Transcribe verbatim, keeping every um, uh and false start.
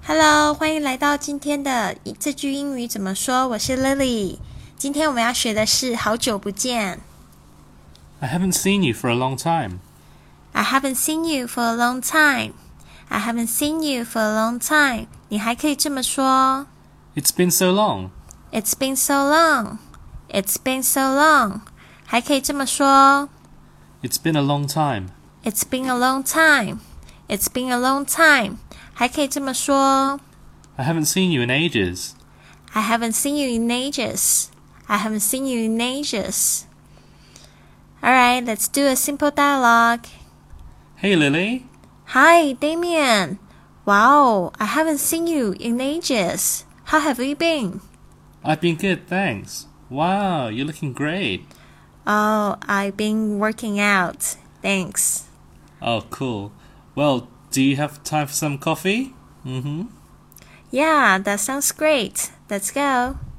Hello，欢迎来到今天的这句英语怎么说？我是 Lily。今天我们要学的是好久不见。 I haven't seen you for a long time. I haven't seen you for a long time. I haven't seen you for a long time. 你还可以这么说。 It's been so long. It's been so long. It's been so long. 还可以这么说。 It's been a long time. It's been a long time. It's been a long time. 还可以这么说。 I haven't seen you in ages. I haven't seen you in ages. I haven't seen you in ages. Alright, let's do a simple dialogue. Hey, Lily. Hi, Damien. Wow, I haven't seen you in ages. How have you been? I've been good, thanks. Wow, you're looking great. Oh, I've been working out. Thanks. Oh, cool. Well, do you have time for some coffee? Mm-hmm. Yeah, that sounds great. Let's go.